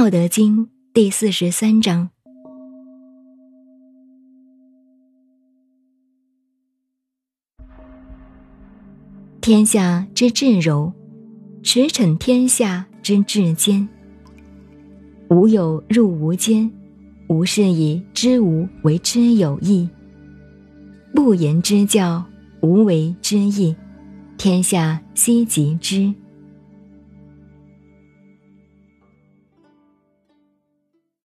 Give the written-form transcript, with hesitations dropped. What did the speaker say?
道德经第43章。天下之至柔，驰骋天下之至坚。无有入无间，吾是以知无为之有益。不言之教，无为之义，天下希及之。